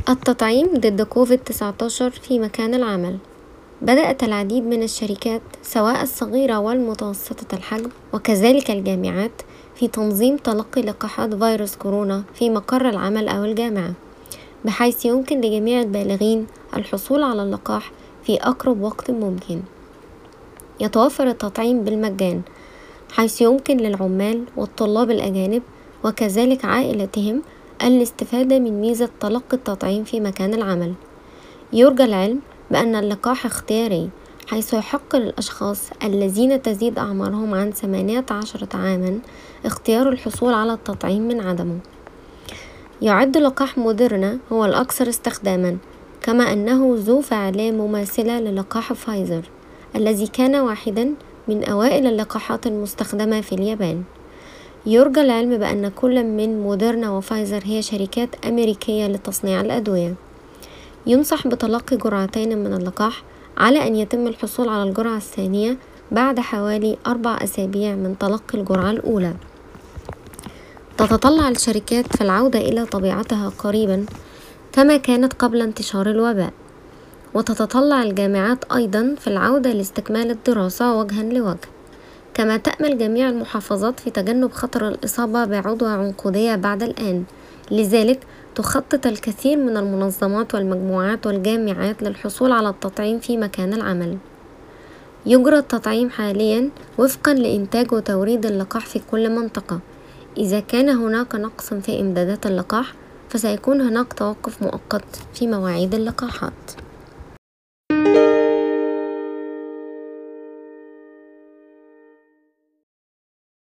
التطعيم ضد كوفيد-19 في مكان العمل. بدأت العديد من الشركات سواء الصغيرة والمتوسطة الحجم وكذلك الجامعات في تنظيم تلقي لقاحات فيروس كورونا في مقر العمل أو الجامعة، بحيث يمكن لجميع البالغين الحصول على اللقاح في أقرب وقت ممكن. يتوفر التطعيم بالمجان، حيث يمكن للعمال والطلاب الأجانب وكذلك عائلتهم الاستفادة من ميزة تلقي التطعيم في مكان العمل. يرجى العلم بأن اللقاح اختياري، حيث يحق للأشخاص الذين تزيد أعمارهم عن 18 عاما اختيار الحصول على التطعيم من عدمه. يعد لقاح موديرنا هو الأكثر استخداما، كما أنه ذو فعالية مماثلة للقاح فايزر الذي كان واحدا من أوائل اللقاحات المستخدمة في اليابان. يرجى العلم بأن كل من موديرنا وفايزر هي شركات أمريكية لتصنيع الأدوية. ينصح بتلقي جرعتين من اللقاح على أن يتم الحصول على الجرعة الثانية بعد حوالي 4 أسابيع من تلقي الجرعة الأولى. تتطلع الشركات في العودة إلى طبيعتها قريبا كما كانت قبل انتشار الوباء، وتتطلع الجامعات أيضا في العودة لاستكمال الدراسة وجها لوجه، كما تأمل جميع المحافظات في تجنب خطر الإصابة بعدوى عنقودية بعد الآن. لذلك تخطط الكثير من المنظمات والمجموعات والجامعات للحصول على التطعيم في مكان العمل. يجرى التطعيم حاليا وفقا لإنتاج وتوريد اللقاح في كل منطقة. إذا كان هناك نقص في إمدادات اللقاح فسيكون هناك توقف مؤقت في مواعيد اللقاحات.